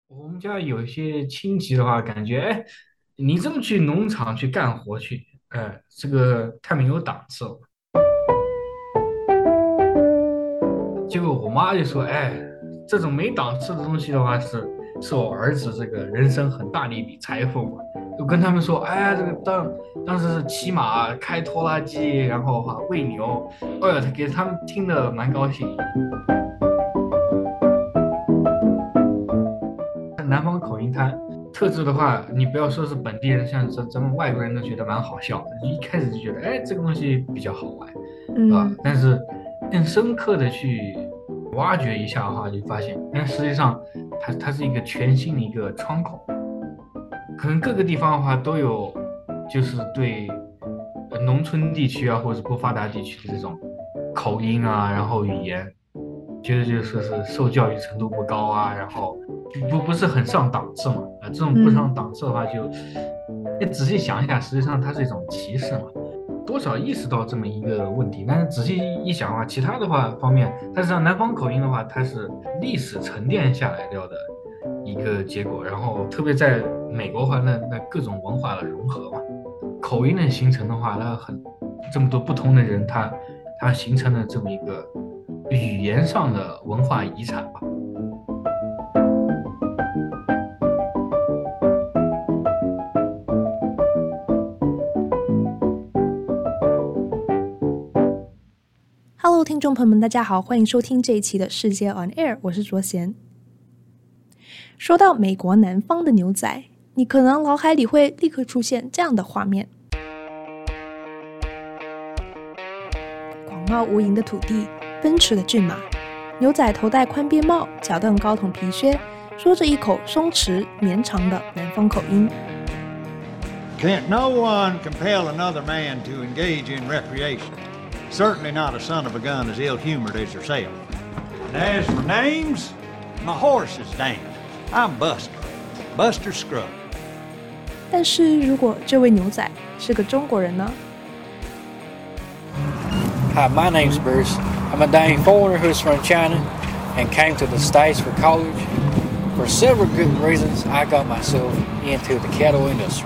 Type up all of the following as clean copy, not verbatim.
我们家有一些親戚的話，感覺哎，你這麼去農場去幹活去，這個太沒有檔次了。結果我媽就說，哎，這種沒檔次的東西的話是我兒子這個人生很大的一筆財富嘛。就跟他們說，哎，這個當時是騎馬、開拖拉機，然後餵牛，哎呀，他給他們聽得蠻高興。南方口音它特質的話，你不要說是本地人，像咱們外國人都覺得蠻好笑的，一開始就覺得，哎，這個東西比較好玩，是吧？ 嗯， 但是更深刻的去挖掘一下的話，就發現，實際上它是一個全新的一個窗口，可能各個地方的話都有，就是對農村地區啊，或者不發達地區的這種口音啊，然後語言，覺得就是受教育程度不高啊，然後不是很上檔次嘛，这種不上檔次的話就，你仔細想一下，實際上它是一種歧視嘛，多少意識到這麼一個問題，但是仔細一想的話，其他的話方面，但是像南方口音的話，它是歷史沉澱下來掉的一個結果，然後特別在美國的話，那各種文化的融合嘛，口音的形成的話，那這麼多不同的人，他形成了這麼一個語言上的文化遺產吧。 Hello，聽眾朋友們，大家好，歡迎收聽這一期的世界 On Air， 我是卓賢。說到美國南方的牛仔，你可能腦海裡會立刻出現這樣的畫面：廣袤無垠的土地，奔馳的駿馬，牛仔頭戴寬邊帽，腳蹬高筒皮靴，說着一口鬆弛綿長的南方口音。 Can't no one compel another man to engage in recreation.Certainly not a son of a gun as ill-humored as yourself. And as for names, my horse is Dan. I'm Buster. Buster Scruggs. 但是如果這位牛仔是個中國人呢？ Hi, my name's Bruce. I'm a dang foreigner who's from China and came to the States for college. For several good reasons, I got myself into the cattle industry.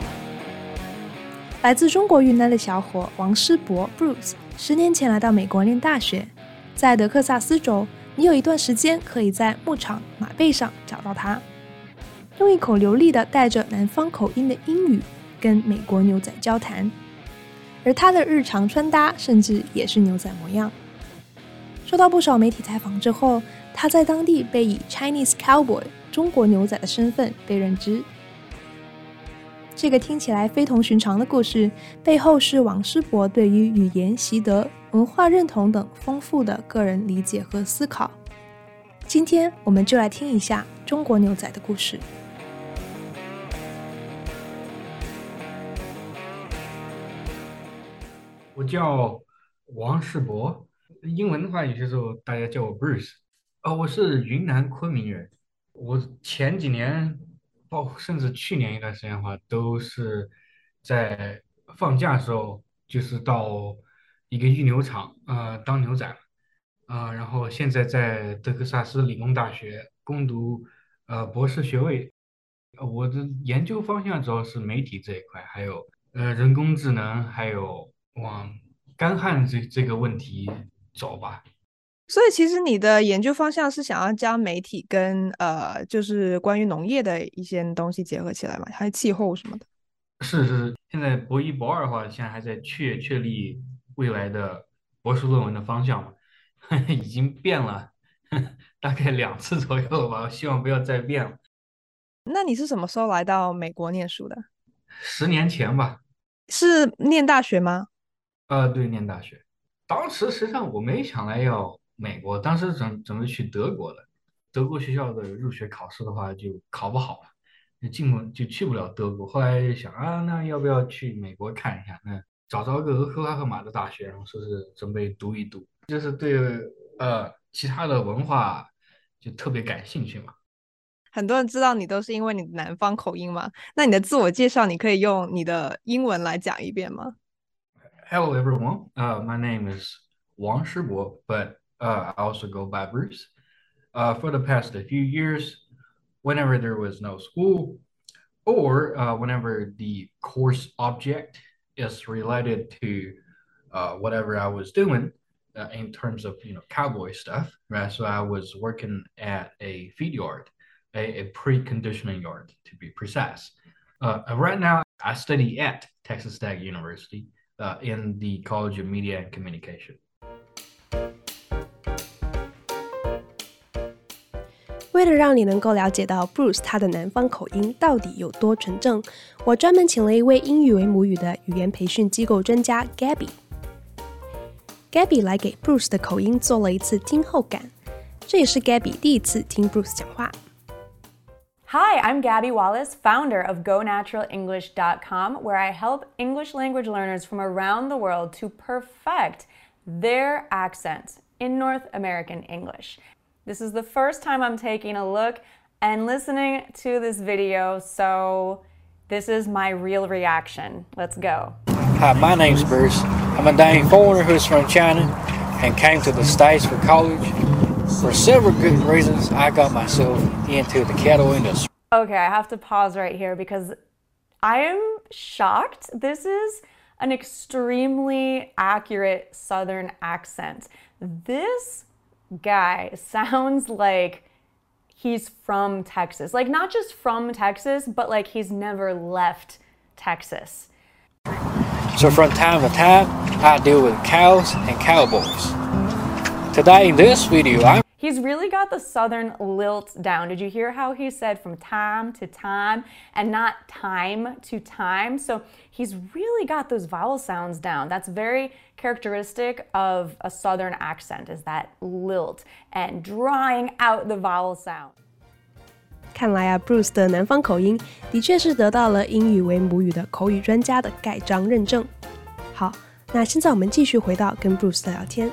來自中國雲南的小伙王師博 Bruce 10年前來到美國念大學，在德克薩斯州，你有一段時間可以在牧場馬背上找到他，用一口流利的帶着南方口音的英語跟美國牛仔交談，而他的日常穿搭甚至也是牛仔模樣。受到不少媒體採訪之後，他在當地被以 Chinese Cowboy 中國牛仔的身份被認知。這個聽起來非同尋常的故事，背後是王師博對於語言習得、文化認同等豐富的個人理解和思考。今天我們就來聽一下中國牛仔的故事。 我叫王師博，英文的話有些時候大家叫我 Bruce。我是雲南昆明人，我前幾年包括甚至去年一段時間的話，都是在放假的時候，就是到一個育牛場當牛仔然後現在在德克薩斯理工大學攻讀博士學位。我的研究方向主要是媒體這一塊，還有人工智能，還有往乾旱這個問題走吧。 所以其實你的研究方向是想要將媒體跟就是關於農業的一些東西結合起來嘛，還有氣候什麼的。 是，現在博一博二的話，現在還在確立未來的博士論文的方向嘛，已經變了大概2次左右了吧，我希望不要再變了。 那你是什麼時候來到美國念書的 10年前吧。 是念大學嗎？ 對，念大學。當時實際上我沒想來要美國，當時準備去德國的，德國學校的入學考試的話就考不好了，就去不了德國。後來就想那要不要去美國看一下？那找着個俄克拉荷馬的大學，然後說是準備讀一讀，就是對其他的文化就特別感興趣嘛。 很多人知道你都是因為你的南方口音嘛，那你的自我介紹你可以用你的英文來講一遍嗎？ Hello everyone, my name is Wang Shibo, but I also go by Bruce. For the past few years, whenever there was no school, or whenever the course object is related to whatever I was doing in terms of cowboy stuff, right? So I was working at a feed yard, a preconditioning yard to be precise. Right now, I study at Texas Tech University in the College of Media and Communication. 为了让你能夠了解到 Bruce 他的南方口音到底有多純正，我專門請了一位英語為母語的語言培訓機構專家 Gabby。Gabby 來給 Bruce 的口音做了一次聽後感，這也是 Gabby 第一次聽 Bruce 講話。 Hi, I'm Gabby Wallace, founder of GoNaturalEnglish.com, where I help English language learners from around the world to perfect their accent in North American English. This is the first time I'm taking a look and listening to this video, so this is my real reaction. Let's go. Hi, my name's Bruce. I'm a dang foreigner who's from China and came to the States for college. For several good reasons, I got myself into the cattle industry. Okay, I have to pause right here because I am shocked. This is an extremely accurate Southern accent. This guy sounds like he's from Texas. Like, not just from Texas, but like he's never left Texas. So from time to time, I deal with cows and cowboys. Today in this video, He's really got the Southern lilt down. Did you hear how he said from time to time and not time to time? So he's really got those vowel sounds down. That's very characteristic of a Southern accent, is that lilt and drawing out the vowel sound. 看來啊 ，Bruce 的南方口音的確是得到了英語為母語的口語專家的蓋章認證。好，那現在我們繼續回到跟 Bruce 的聊天。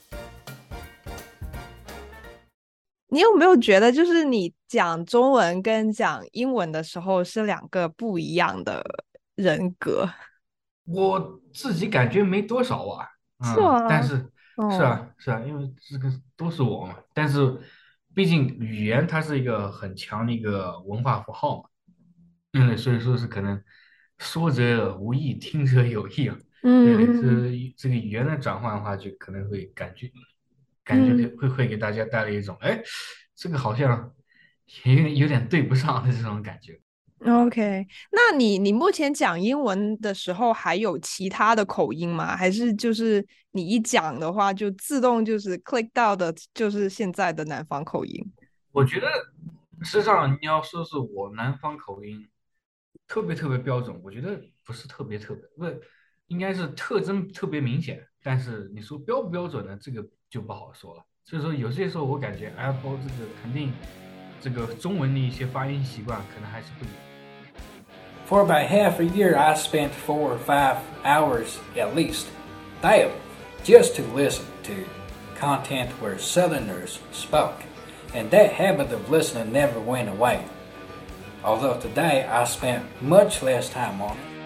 你有沒有覺得，就是你講中文跟講英文的時候是兩個不一樣的人格？ 我自己感覺沒多少啊， 是嗎？ 但是是啊，因為這個都是我嘛。但是畢竟語言它是一個很強的一個文化符號嘛，所以說是可能說者無意，聽者有意啊。對，這個語言的轉換的話，就可能會感覺會給大家帶來一種，哎，這個好像有點對不上的這種感覺。 OK， 那你目前講英文的時候還有其他的口音嗎？還是就是你一講的話就自動就是 click 到的就是現在的南方口音？ 我覺得實際上你要說是我南方口音特別標準，我覺得不是特別，不是，應該是特徵特別明顯，但是你說標不標準呢，這個就不好說了。所以說有些時候我感覺 Apple 這個肯定這個中文的一些發音習慣可能還是不一樣。 For about half a year, I spent 4 or 5 hours at least daily just to listen to content where Southerners spoke, and that habit of listening never went away. Although today I spent much less time on it.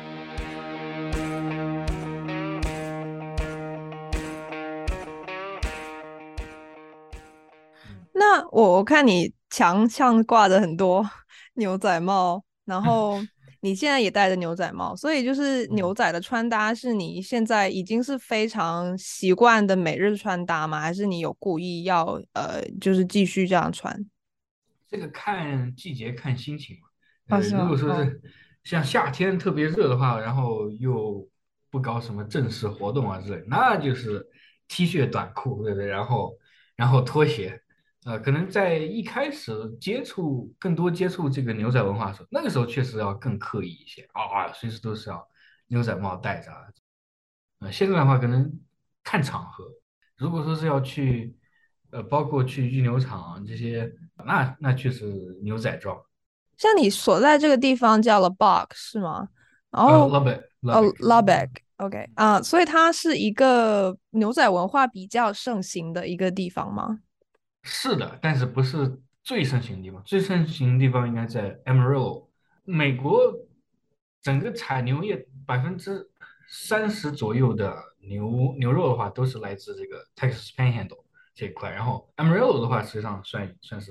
那我看你牆上掛着很多牛仔帽，然後你現在也戴着牛仔帽，所以就是牛仔的穿搭是你現在已經是非常習慣的每日穿搭嗎？還是你有故意要就是繼續這樣穿？ 這個看季節看心情嘛。如果說是像夏天特別熱的話，然後又不搞什麼正式活動啊之類，那就是 T 恤短褲，對不對？然後拖鞋。可能在一開始更多接觸這個牛仔文化的時候，那個時候確實要更刻意一些啊，隨時都是要牛仔帽戴着。現在的話可能看場合，如果說是要去包括去育牛場這些，那確實牛仔裝。像你所在這個地方叫 Lubbock 是嗎？然後 Lubbock OK 所以它是一個牛仔文化比較盛行的一個地方嗎？ 是的，但是不是最盛行的地方，最盛行的地方應該在 Amarillo。美國整個採牛業30%左右的牛肉的話，都是來自這個 Texas Panhandle 這一塊。然後 Amarillo 的話，實際上算是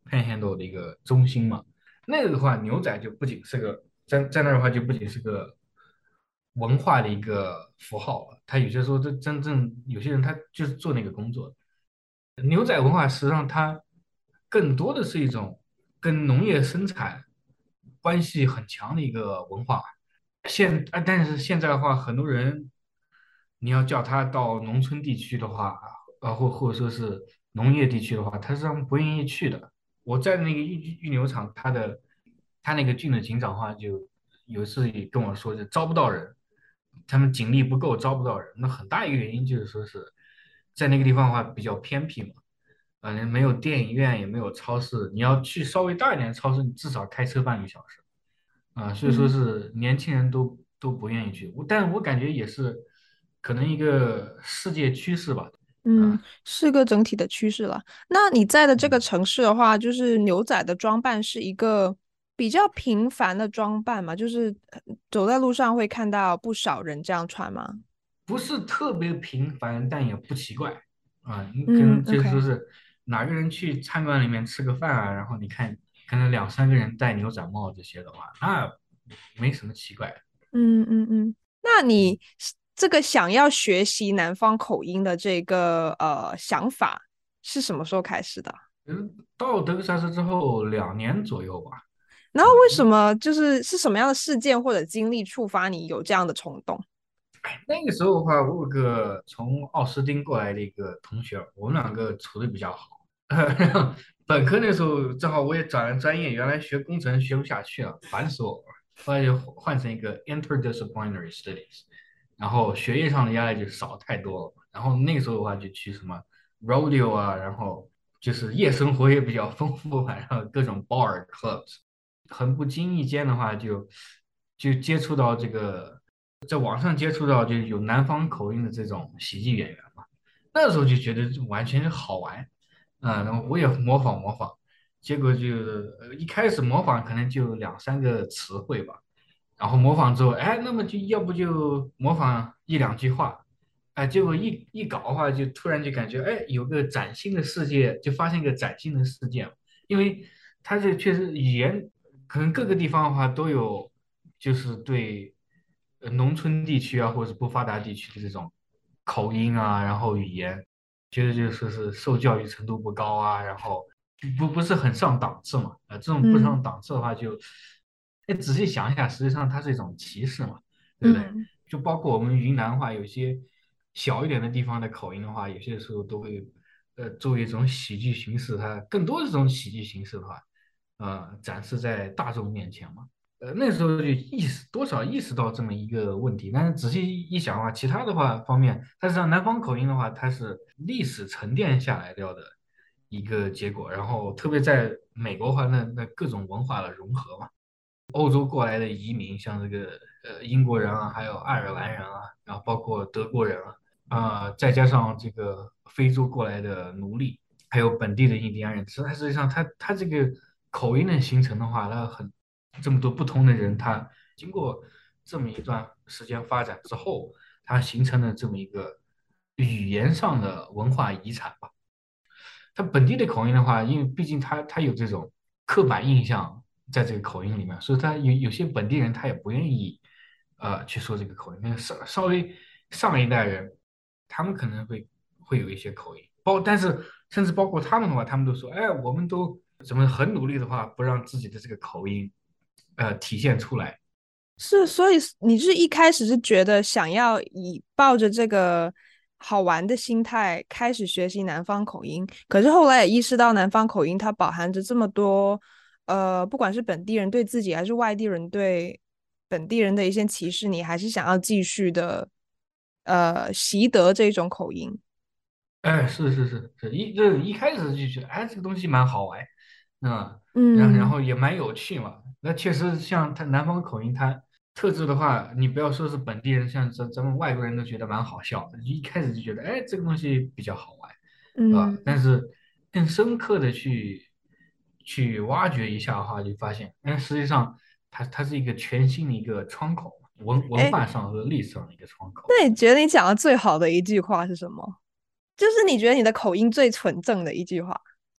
Panhandle 的一個中心嘛。那個的話，牛仔就不僅是个在那兒的話，就不僅是個文化的一個符號了。他有些時候，這真正有些人他就是做那個工作的。牛仔文化實際上它更多的是一種跟農業生產關係很強的一個文化。但是現在的話，很多人你要叫他到農村地區的話，或者說是農業地區的話，他是不願意去的。我在那個育牛場，他那個郡的警長的話，就有一次也跟我說，就招不到人，他們警力不夠，招不到人。那很大一個原因就是說是在那個地方的話比較偏僻嘛，沒有電影院，也沒有超市，你要去稍微大一點的超市，你至少開車半個小時。所以說是年輕人都不願意去，但我感覺也是可能一個世界趨勢吧。 是個整體的趨勢了。那你在的這個城市的話，就是牛仔的裝扮是一個比較頻繁的裝扮嘛？就是走在路上會看到不少人這樣穿嗎？ 不是特別頻繁，但也不奇怪就是說是哪個人去餐館裡面吃個飯啊，然後你看可能2-3個人戴牛仔帽這些的話，那沒什麼奇怪的。 那你這個想要學習南方口音的這個想法是什麼時候開始的？ 到德克薩斯之後2年左右吧。 然後為什麼是什麼樣的事件或者經歷觸發你有這樣的衝動？ 那個時候的話，我有個從奧斯汀過來的一個同學，我們兩個處得比較好。本科那時候正好我也轉了專業，原來學工程學不下去了，煩死我了。後來就換成一個 interdisciplinary studies， 然後學業上的壓力就少太多了。然後那個時候的話就去什麼 rodeo 啊，然後就是夜生活也比較豐富吧，然後各種 bar clubs， 很不經意間的話就接觸到這個，在網上接觸到就有南方口音的這種喜劇演員嘛，那時候就覺得完全是好玩，然後我也模仿，結果就一開始模仿可能就2-3個詞彙吧，然後模仿之後，那麼就要不就模仿1-2句話，結果一搞的話，就突然就感覺有個嶄新的世界，就發現一個嶄新的世界，因為它這確實語言可能各個地方的話都有，就是對農村地區啊或者是不發達地區的這種口音啊，然後語言覺得就是受教育程度不高啊，然後不是很上檔次嘛，這種不上檔次的話就仔細想一下，實際上它是一種歧視嘛，對不對？就包括我們雲南話，有些小一點的地方的口音的話，有些時候都會作為一種喜劇形式，它更多的這種喜劇形式的話展示在大眾面前嘛。那時候就多少意識到這麼一個問題，但是仔細一想的話，其他的話方面，但是南方口音的話，它是歷史沉澱下來掉的一個結果，然後特別在美國的話，那各種文化的融合嘛，歐洲過來的移民，像這個英國人啊，還有愛爾蘭人啊，然後包括德國人再加上這個非洲過來的奴隸，還有本地的印第安人，實際上它這個口音的形成的話，它這麼多不同的人，他經過這麼一段時間發展之後，它形成了這麼一個語言上的文化遺產吧。它本地的口音的話，因為畢竟它有這種刻板印象在這個口音裡面，所以它有些本地人他也不願意去說這個口音。那稍微上一代人，他們可能會有一些口音，但是甚至包括他們的話，他們都說，我們都怎麼很努力的話，不讓自己的這個口音體現出來。 是，所以你是一開始是覺得想要抱着這個好玩的心態開始學習南方口音，可是後來也意識到南方口音它飽含着這麼多不管是本地人對自己還是外地人對本地人的一些歧視，你還是想要繼續的習得這種口音。 是一開始就覺得這個東西蠻好玩，然後也蠻有趣嘛。那確實像它南方口音，它特質的話，你不要說是本地人，像咱們外國人都覺得蠻好笑的，一開始就覺得這個東西比較好玩，但是更深刻的去挖掘一下的話，就發現實際上它是一個全新的一個窗口，文化上和歷史上的一個窗口。 那你覺得你講的最好的一句話是什麼？就是你覺得你的口音最純正的一句話？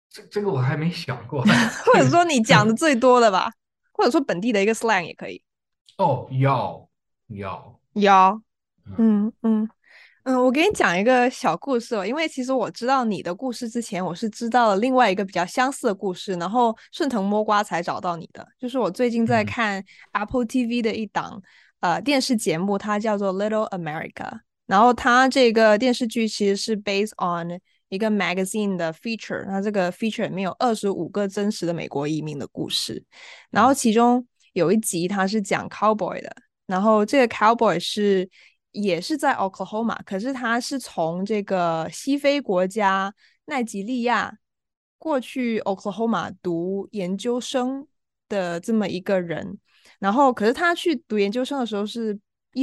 這個我還沒想過。 或者說你講的最多的吧，或者说本地的一个 slang 也可以。 哦，要， 有， 嗯嗯，我给你講一個小故事哦，因為其實我知道你的故事之前，我是知道了另外一個比較相似的故事，然後順藤摸瓜才找到你的。就是我最近在看 Apple TV 的一檔電視節目，它叫做 Little America，然後它這個電視劇其實是 based on 一個 magazine 的 feature，那這個 feature 裡面有25個真實的美國移民的故事，然後其中有一集它是講 cowboy 的，然後這個 cowboy 也是在 Oklahoma， 可是他是從這個西非國家奈及利亞過去 Oklahoma 讀研究生的這麼一個人，然後可是他去讀研究生的時候是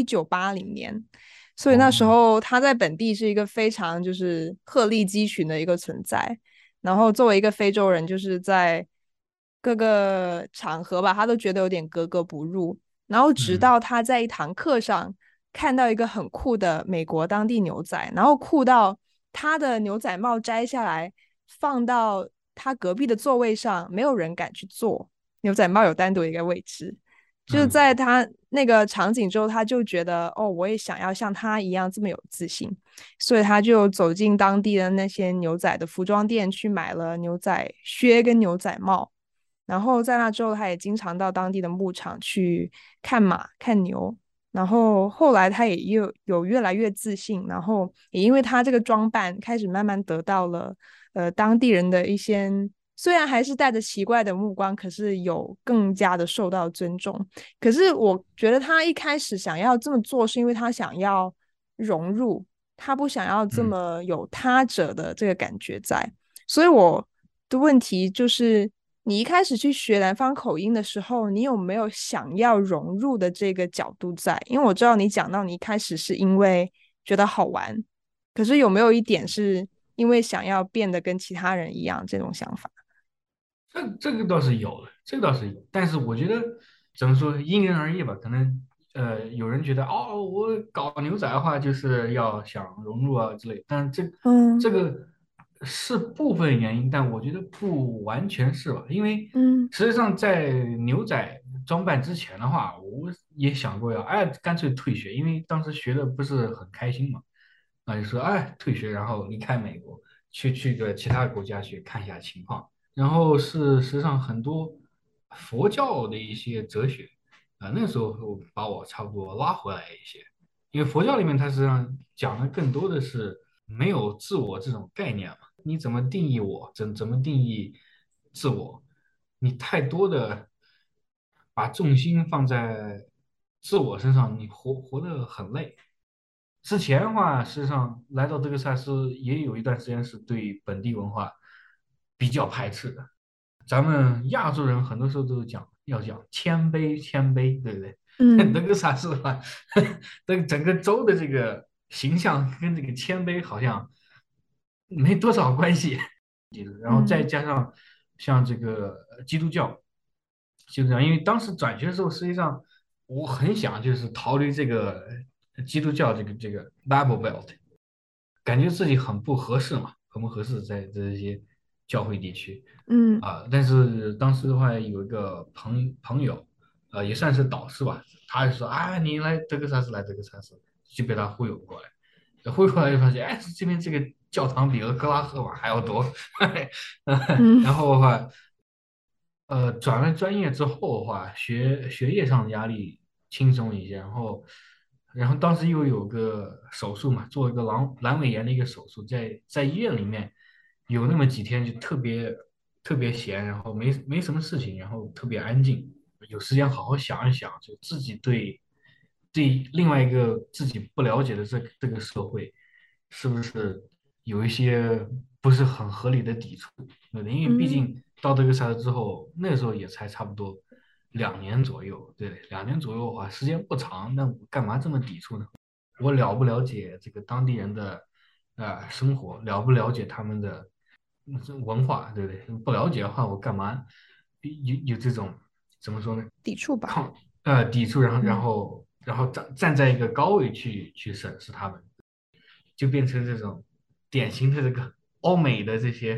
1980年，所以那時候他在本地是一個非常就是鶴立雞群的一個存在，然後作為一個非洲人，就是在各個場合吧，他都覺得有點格格不入，然後直到他在一堂課上看到一個很酷的美國當地牛仔，然後酷到他的牛仔帽摘下來放到他隔壁的座位上，沒有人敢去坐，牛仔帽有單獨一個位置，就是在他那個場景之後，他就覺得哦，我也想要像他一樣這麼有自信，所以他就走進當地的那些牛仔的服裝店，去買了牛仔靴跟牛仔帽，然後在那之後，他也經常到當地的牧場去看馬看牛，然後後來他也有越來越自信，然後也因為他這個裝扮開始慢慢得到了當地人的一些雖然還是帶着奇怪的目光，可是有更加的受到尊重。可是我覺得他一開始想要這麼做是因為他想要融入，他不想要這麼有他者的這個感覺在，所以我的問題就是你一開始去學南方口音的時候，你有沒有想要融入的這個角度在？因為我知道你講到你一開始是因為覺得好玩，可是有沒有一點是因為想要變得跟其他人一樣這種想法？ 這個倒是有的，這個倒是有，但是我覺得怎麼說，因人而異吧。可能有人覺得哦，我搞牛仔的話就是要想融入啊之類，但這個是部分原因，但我覺得不完全是吧。因為實際上在牛仔裝扮之前的話，我也想過要乾脆退學，因為當時學的不是很開心嘛，那就說退學，然後離開美國，去個其他國家去看一下情況。然後是實際上很多佛教的一些哲學那時候把我差不多拉回來一些，因為佛教裡面它實際上講的更多的是沒有自我這種概念嘛，你怎麼定義我，怎麼定義自我？你太多的把重心放在自我身上，你活得很累。之前的話，實際上來到德克薩斯也有一段時間是對本地文化比較排斥的。咱們亞洲人很多時候都要講謙卑，對不對？德克薩斯的話，整個州的這個形象跟這個謙卑好像沒多少關係。然後再加上像這個基督教，因為當時轉學的時候，實際上我很想就是逃離這個基督教這個 Bible Belt， 感覺自己很不合適嘛，很不合適在這些教會地區。但是當時的話有一個朋友，也算是導師吧，他就說你來德克薩斯，就被他忽悠過來，忽悠過來就發現這邊這個教堂比俄克拉荷馬還要多。然後的話轉了專業之後的話，學業上的壓力輕鬆一些，然後當時又有個手術嘛，做一個闌尾炎的一個手術，在醫院裡面有那麼幾天就特別閒，然後沒什麼事情，然後特別安靜，有時間好好想一想，就自己對另外一個自己不了解的這個社會是不是有一些不是很合理的抵觸，對不對？因為畢竟到德克薩斯之後，那個時候也才差不多2年左右，對，2年左右的話時間不長，那我幹嘛這麼抵觸呢？我了不了解這個當地人的生活，了不了解他們的文化，對不對？不了解的話，我幹嘛有這種怎麼說呢？ 抵觸吧。 抵觸，然後站在一個高位去審視他們，就變成這種典型的這個歐美的這些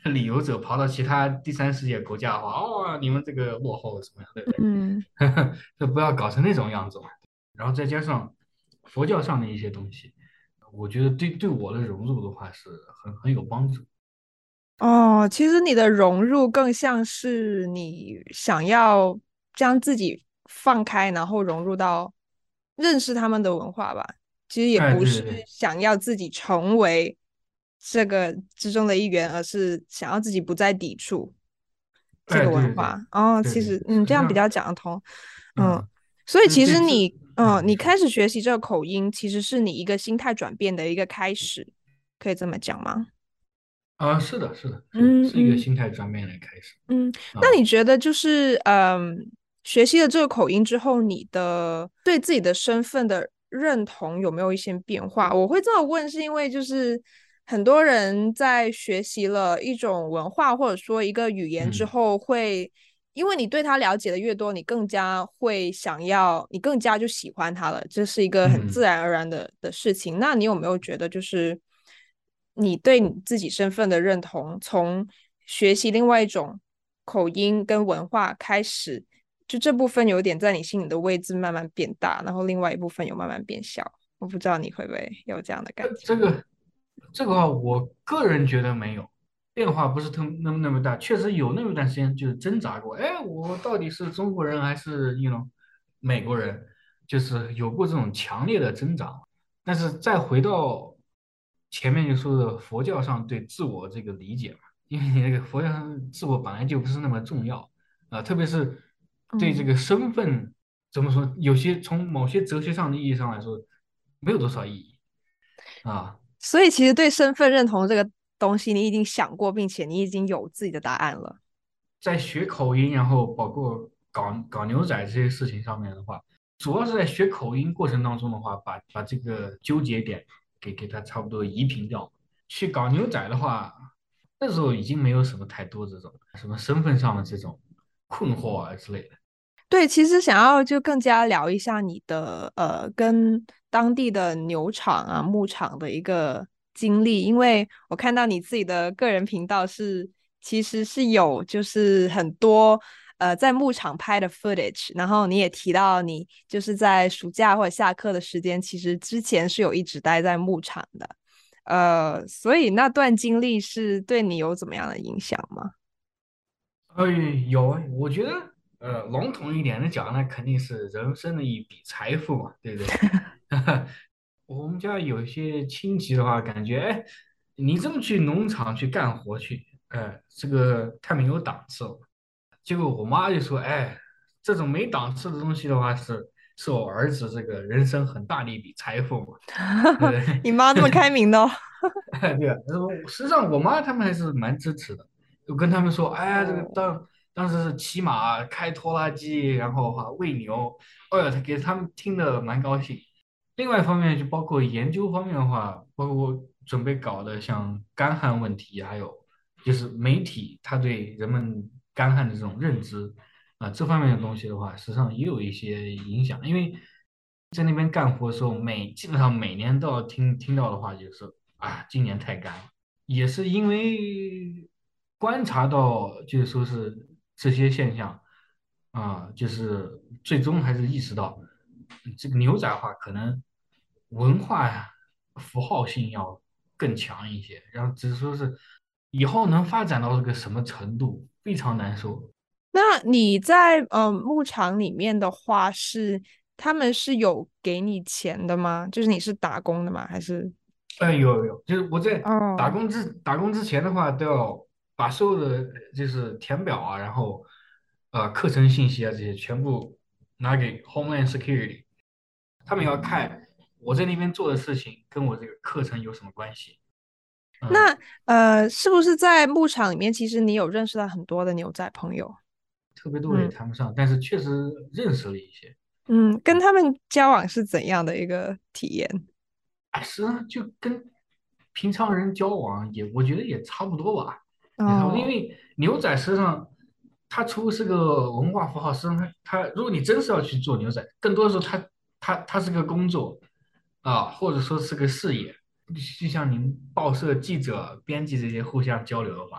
旅遊者跑到其他第三世界国家的话，哦，你们这个落後什麼樣，對不對？ 嗯。 就不要搞成那種樣子嘛。然後再加上佛教上的一些東西，我覺得對我的融入的話是很有幫助。 哦，其實你的融入更像是你想要將自己放開，然後融入到認識他們的文化吧。其實也哎， 不是對對對， 想要自己成為這個之中的一員，而是想要自己不再抵觸這哎， 個對對對文化。哦， 對對， 其實這樣比較實際上， 講得通。嗯， 嗯， 所以其實對這， 你你說。 開始學習這個口音，其實是你一個心態轉變的一個開始，可以這麼講嗎？ 是的，是的，是的，是一個嗯嗯。 心態轉變的開始那啊。 你覺得就是學習了這個口音之後，你的對自己的身份的認同有沒有一些變化？我會這麼問，是因為就是很多人在學習了一種文化或者說一個語言之嗯後會，因為你對他了解的越多，你更加會想要，你更加就喜歡他了，這是一個很自嗯。 然而然的事情。那你有沒有覺得就是你對你自己身份的認同，從學習另外一種口音跟文化開始，就這部分有點在你心裡的位置慢慢變大，然後另外一部分有慢慢變小。我不知道你會不會有這樣的感覺。 這個話，我個人覺得沒有變化，不是那麼大。確實有那麼一段時間就是掙扎過，哎，我到底是中國人還是美國人，就是有過這種強烈的掙扎。但是再回到前面就說的佛教上對自我這個理解嘛，因為你那個佛教上自我本來就不是那麼重要啊，特別是對這個身份怎麼說，有些從某些哲學上的意義上來說，沒有多少意義啊。 所以其實對身份認同這個東西，你已經想過，並且你已經有自己的答案了。 在學口音，然後包括搞牛仔這些事情上面的話，主要是在學口音過程當中的話，把這個糾結點給它差不多移平掉。去搞牛仔的話，那時候已經沒有什麼太多這種什麼身份上的這種困惑啊之類的。 對，其實想要就更加聊一下你的跟當地的牛場啊、牧場的一個經歷，因為我看到你自己的個人頻道其實是有就是很多在牧場拍的 footage，然後你也提到你就是在暑假或者下課的時間，其實之前是有一直待在牧場的，所以那段經歷是對你有怎麼樣的影響嗎？ 有啊，我覺得籠統一點的講，那肯定是人生的一筆財富嘛，對不對？我們家有一些親戚的話，感覺哎，你這麼去農場去幹活去，這個太沒有檔次了。結果我媽就說，哎，這種沒檔次的東西的話是我兒子這個人生很大的一筆財富嘛，對不對？ 你媽這麼開明的哦。 對啊，實際上我媽他們還是蠻支持的，就跟他們說，哎，這個當時是騎馬、開拖拉機，然後餵牛，哎呀，他給他們聽得蠻高興。另外一方面，就包括研究方面的話，包括我準備搞的像乾旱問題，還有就是媒體他對人們乾旱的這種認知這方面的東西的話，實際上也有一些影響。因為在那邊幹活的時候，基本上每年都要聽到的話就是今年太乾了，也是因為觀察到，就是說是這些現象就是最終還是意識到，這個牛仔化可能文化呀、符號性要更強一些，然後只是說是以後能發展到這個什麼程度，非常難說。 那你在牧場裡面的話他們是有給你錢的嗎？就是你是打工的嗎？還是？ 有，就是我在打哦， 工之前的話，都要把所有的就是填表啊，然後課程信息啊這些全部拿給 Homeland Security，他們要看我在那邊做的事情跟我這個課程有什麼關係。 那是不是在牧場裡面，其實你有認識到很多的牛仔朋友？ 特別多也談不上，但是確實認識了一些。 跟他們交往是怎樣的一個體驗？ 實際上就跟平常人交往我覺得也差不多吧，也差不多。因哦， 為牛仔實際上它除了是個文化符號，實際上它如果你真是要去做牛仔，更多的時候它是個工作或者說是個事業。就像您報社記者、編輯這些互相交流的話，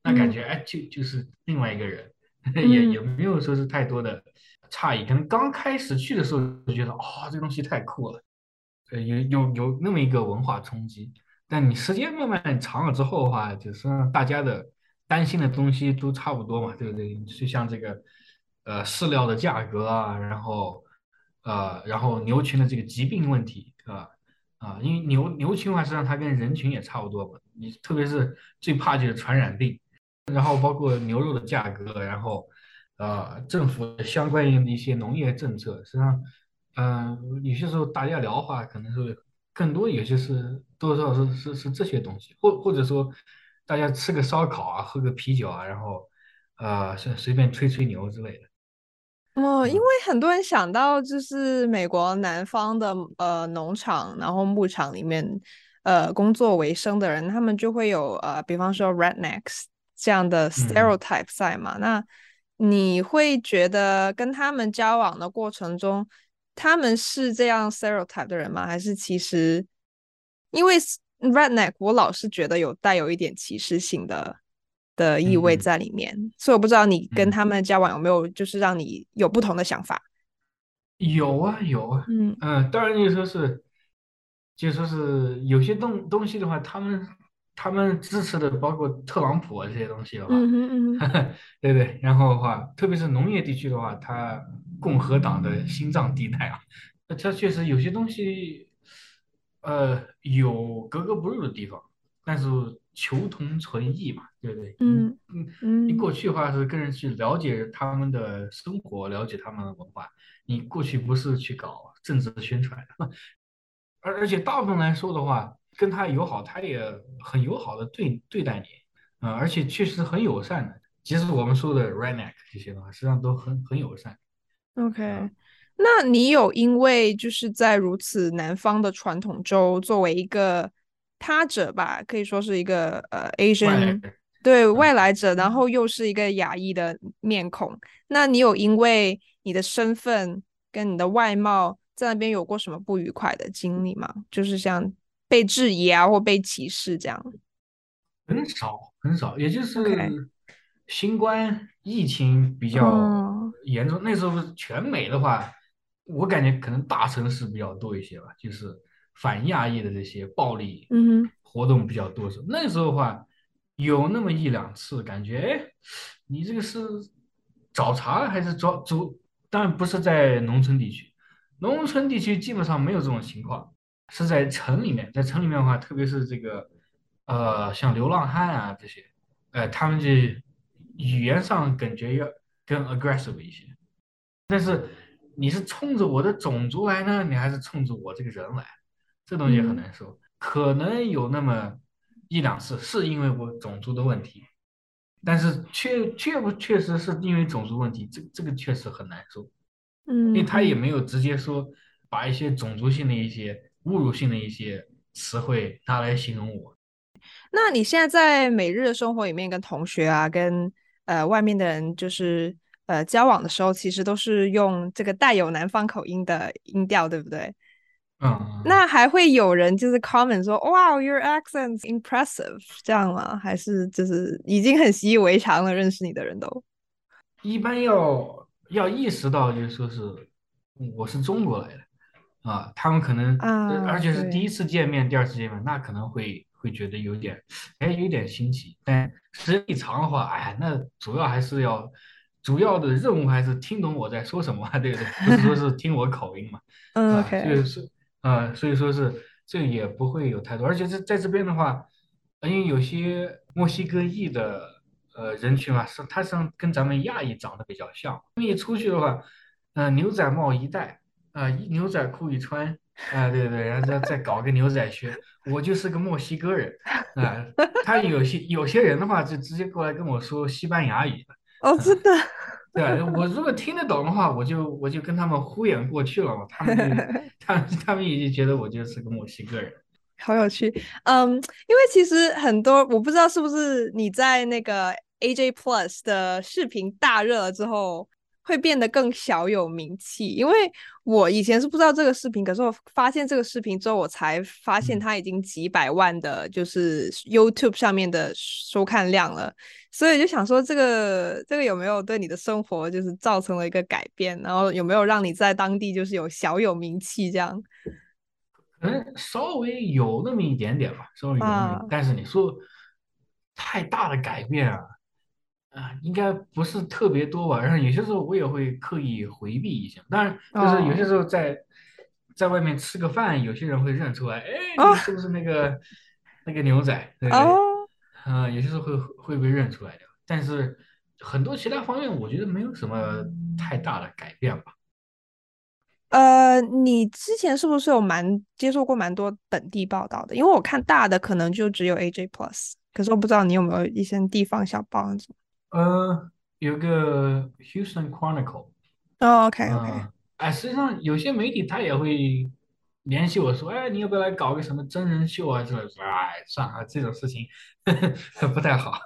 那感覺哎就是另外一个人，也嗯没有說是太多的差異。可能剛開始去的時候就覺得這個東西太酷了，有那麼一個文化衝擊。但你時間慢慢長了之後的話，就是讓大家的擔心的東西都差不多嘛，對不對？就像這個飼料的價格啊，然後牛群的這個疾病問題因為牛群的話，實際上它跟人群也差不多嘛。你特別是最怕就是傳染病，然後包括牛肉的價格，然後政府的相關的一些農業政策，實際上有些時候大家聊的話，可能是更多有些是多少是這些東西，或者說大家吃個燒烤啊，喝個啤酒啊，然後隨便吹吹牛之類的。 因為很多人想到就是美國南方的農場，然後牧場裡面工作為生的人，他們就會有比方說 rednecks 這樣的 stereotype 在嘛。那你會覺得跟他們交往的過程中，他們是這樣 stereotype 的人嗎？還是其實因為 redneck 我老是覺得帶有一點歧視性的意味在裡面，所以我不知道你跟他們交往有沒有就是讓你有不同的想法。 有啊，當然就說是有些東西的話，他們支持的包括特朗普啊這些東西的話，對對，然後的話，特別是農業地區的話，它共和黨的心臟地帶啊，它確實有些東西有格格不入的地方，但是求同存異嘛，對不對？你過去的話是跟人去了解他們的生活，了解他們的文化，你過去不是去搞政治宣傳的，而且大部分來說的話，跟他友好，他也很友好的對待你，而且確實很友善的。即使我們說的 redneck 這些的話，實際上都很友善。 OK，那你有因為就是在如此南方的傳統州，作為一個他者吧，可以說是一個Asian，對，外來者，然後又是一個亞裔的面孔，那你有因為你的身份跟你的外貌在那邊有過什麼不愉快的經歷嗎？就是像被質疑啊，或被歧視這樣？ 很少，也就是新冠疫情比較嚴重，那時候全美的話，我感覺可能大城市比較多一些吧，就是反亞裔的這些暴力活動比較多。那時候的話，有那麼一兩次感覺，哎，你這個是找茬還是當然不是在農村地區，農村地區基本上沒有這種情況，是在城裡面。在城裡面的話，特別是這個像流浪漢啊這些，他們這語言上感覺要更 aggressive 一些。但是你是衝着我的種族來呢，你還是衝着我這個人來？這東西很難說。可能有那麼一兩次是因為我種族的問題，但是確實是因為種族問題，這個確實很難說。因為他也沒有直接說把一些種族性的一些侮辱性的一些詞彙拿來形容我。 那你現在在每日的生活裡面跟同學啊，跟外面的人就是交往的時候，其實都是用這個帶有南方口音的音調，對不對？那還會有人就是 comment 說 Wow, your accent's impressive 這樣嗎？還是就是已經很習以為常了，認識你的人都一般要意識到就是說是我是中國來的他們可能而且是第一次見面，第二次見面，那可能會覺得有點新奇，但時間一長的話，哎，那主要的任務還是聽懂我在說什麼，對不對？不是說是聽我口音嘛。所以說是這也不會有太多，而且在這邊的話，因為有些墨西哥裔的人群嘛，他跟咱們亞裔長得比較像，因為出去的話，牛仔帽一戴牛仔褲一穿對，然後再搞個牛仔靴，我就是個墨西哥人他有些人的話就直接過來跟我說西班牙語真的。 對，我如果聽得懂的話，我就跟他們敷衍過去了嘛。他們已經覺得我就是個墨西哥人， 好有趣。因為其實很多我不知道是不是你在那個 AJ Plus 的視頻大熱了之後， 會變得更小有名氣？因為我以前是不知道這個視頻，可是我發現這個視頻之後，我才發現它已經幾百萬的，就是 YouTube 上面的收看量了。所以就想說，這個有沒有對你的生活就是造成了一個改變？然後有沒有讓你在當地就是小有名氣這樣？ 可能稍微有那麼一點點吧，稍微有那么一点，但是你說太大的改变啊，应该不是特別多吧。然後有些時候我也會刻意回避一下，當然就是有些時候在外面吃個飯，有些人會認出來，哎，你是不是那個牛仔，對不對？有些時候會被認出來的，但是很多其他方面我覺得沒有什麼太大的改變吧。 你之前是不是有接受過蠻多本地報道的？因為我看大的可能就只有 AJ Plus， 可是我不知道你有沒有一些地方小報那種。 有個 Houston Chronicle。 OK。 實際上有些媒體他也會聯繫我說，哎，你要不要來搞個什麼真人秀啊之類的？哎，算了，這種事情不太好。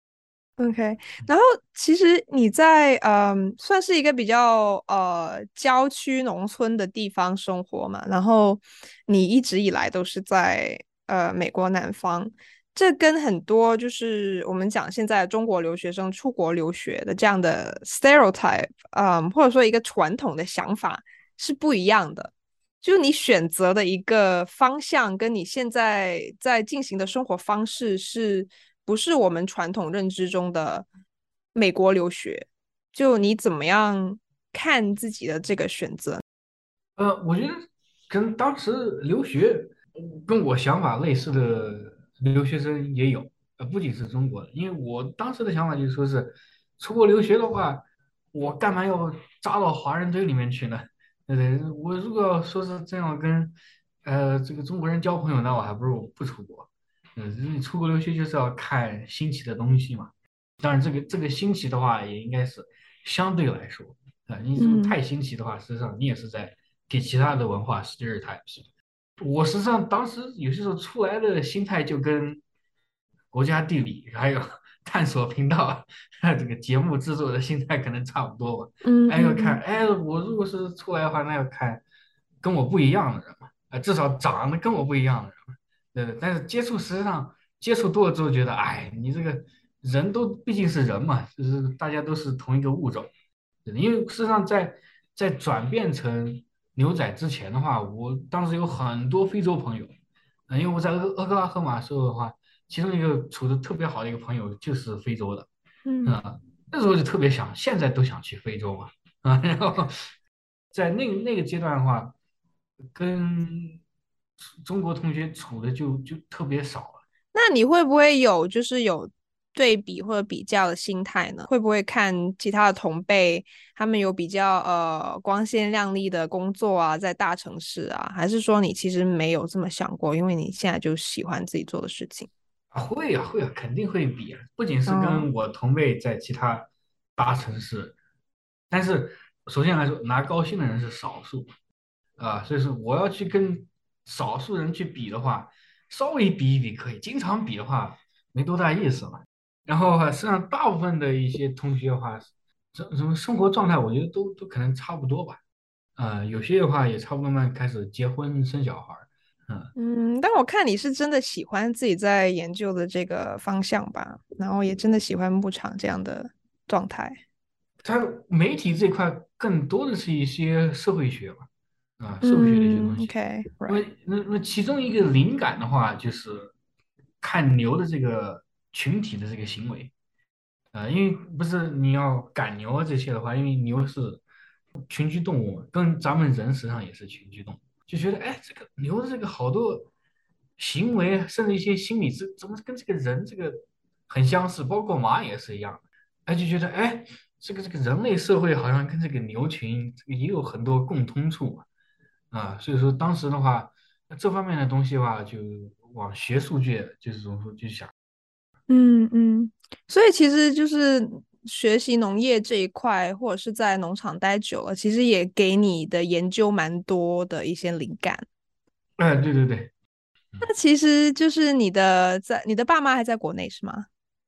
OK，然後其實你在算是一個比較郊區農村的地方生活嘛，然後你一直以來都是在美國南方，這跟很多就是我們講現在中國留學生出國留學的這樣的 stereotype，或者說一個傳統的想法是不一樣的。就你選擇的一個方向，跟你現在在進行的生活方式是不是我們傳統認知中的美國留學？就你怎麼樣看自己的這個選擇？ 我覺得跟當時留學跟我想法類似的留學生也有，不僅是中國的，因為我當時的想法就是說是出國留學的話，我幹嘛要扎到華人堆裡面去呢？對對，我如果說是這樣跟這個中國人交朋友，那我還不如不出國。你出國留學就是要看新奇的東西嘛。當然，這個新奇的話，也應該是相對來說你如果太新奇的話，實際上你也是在給其他的文化 stereotypes。我實際上當時有些時候出來的心態就跟國家地理還有探索頻道這個節目制作的心態可能差不多吧。要看，我如果是出來的話，那要看跟我不一樣的人嘛，至少長得跟我不一樣的人嘛。对，但是實際上接觸多了之後，覺得，哎，你這個人都畢竟是人嘛，就是大家都是同一個物種。因為事實上在轉變成牛仔之前的話，我當時有很多非洲朋友，因為我在俄克拉荷馬州的話，其中一個處的特別好的一個朋友就是非洲的，那時候就特別想，現在都想去非洲嘛，然後在那個階段的話，跟中國同學處的就特別少了。 那你會不會有對比或者比較的心態呢？會不會看其他的同輩，他們有比較光鮮亮麗的工作啊，在大城市啊，還是說你其實沒有這麼想過，因為你現在就喜歡自己做的事情？ 會啊，肯定會比啊，不僅是跟我同輩在其他大城市，但是首先來說，拿高薪的人是少數所以說我要去跟少數人去比的話，稍微比一比可以，經常比的話沒多大意思嘛。然後實際上大部分的一些同學的話，什麼生活狀態，我覺得都可能差不多吧。有些的話也差不多慢慢開始結婚生小孩。 但我看你是真的喜歡自己在研究的這個方向吧，然後也真的喜歡牧場這樣的狀態。 它媒體這塊更多的是一些社會學嘛，社會學的一些東西。 Okay, right. 因為那其中一個靈感的話，就是看牛的這個群體的這個行為，因為不是你要趕牛啊這些的話，因為牛是群居動物嘛，跟咱們人實際上也是群居動物，就覺得這個牛的這個好多行為，甚至一些心理怎麼跟這個人這個很相似，包括馬也是一樣的，就覺得這個人類社會好像跟這個牛群這個也有很多共通處嘛，所以說當時的話，這方面的東西的話，就往學術界就是怎麼說就想。 所以其實就是學習農業這一塊，或者是在農場待久了，其實也給你的研究蠻多的一些靈感。 對。 那其實就是你的爸媽還在國內是嗎？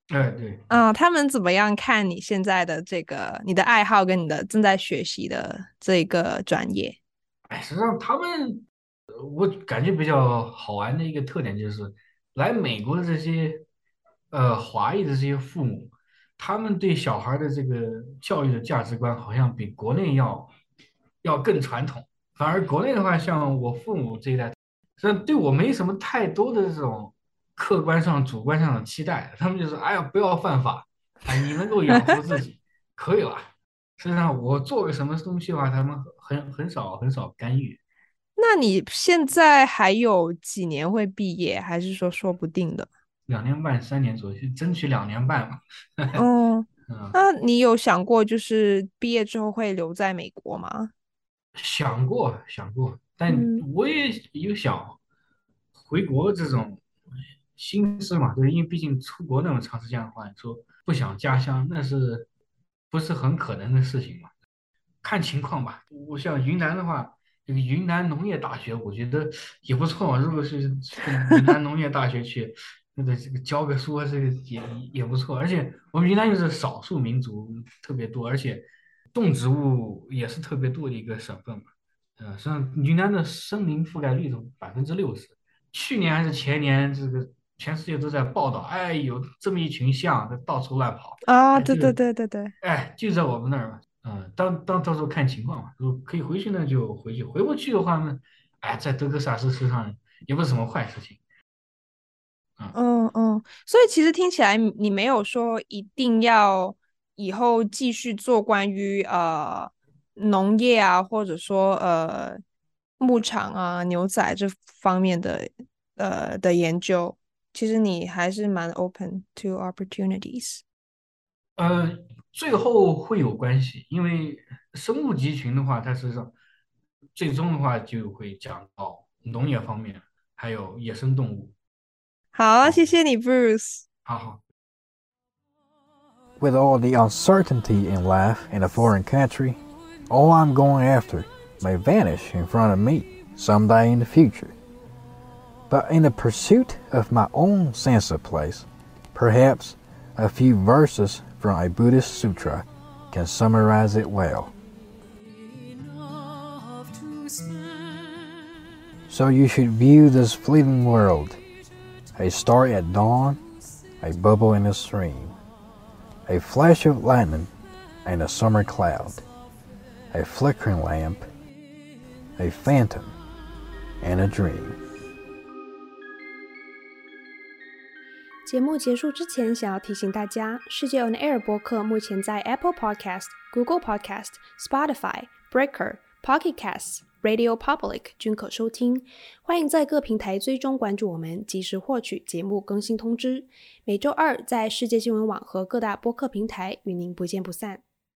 對他們怎麼樣看你現在的這個你的愛好跟你的正在學習的這個專業？ 實際上他們，我感覺比較好玩的一個特點就是來美國的这些華裔的這些父母，他們對小孩的這個教育的價值觀好像比國內要更傳統。反而國內的話，像我父母這一代，實際上對我沒什麼太多的這種客觀上、主觀上的期待，他們就是哎呀，不要犯法，哎，你能夠養活自己可以了。實際上我做個什麼東西的話，他們很少干預。 那你現在還有幾年會畢業，還是說不定的 ？2年半、3年左右，爭取2年半嘛。 那你有想過就是畢業之後會留在美國嗎？ 想過，但我也有想回國這種心思嘛，对，因為畢竟出國那麼長時間的話，你說不想家鄉，那是不是很可能的事情嘛？看情況吧。我像雲南的話，這個雲南農業大學，我覺得也不錯嘛。如果是雲南農業大學去，這個教個書，這個也不錯。而且我們雲南又是少數民族特別多，而且動植物也是特別多的一個省份嘛。實際上雲南的森林覆蓋率都60%。去年還是前年，這個全世界都在報道，哎，有這麼一群象在到處亂跑啊！對， 哎，就在我們那兒嘛。到時候看情況嘛，如果可以回去呢就回去，回不去的話呢，哎，在德克薩斯實際上也不是什麼壞事情。 所以其實聽起來你沒有說一定要以後繼續做關於農業啊，或者說牧場啊、牛仔這方面的研究，其實你還是蠻 open to opportunities。 最後會有關係，因為生物集群的話，它實際上最終的話就會講到農業方面，還有野生動物。 好，謝謝你 Bruce。 好。 With all the uncertainty in life in a foreign country, all I'm going after may vanish in front of me someday in the future. But in the pursuit of my own sense of place, perhaps a few verses from a Buddhist sutra can summarize it well. So you should view this fleeting world, a star at dawn, a bubble in a stream, a flash of lightning and a summer cloud, a flickering lamp, a phantom, and a dream. 節目結束之前，想要提醒大家，世界 On Air 播客目前在 Apple Podcast、Google Podcast、Spotify、Breaker、Pocket Casts、Radio Public 均可收聽。歡迎在各平台追蹤關注我們，及時獲取節目更新通知。每週二在世界新聞網和各大播客平台與您不見不散。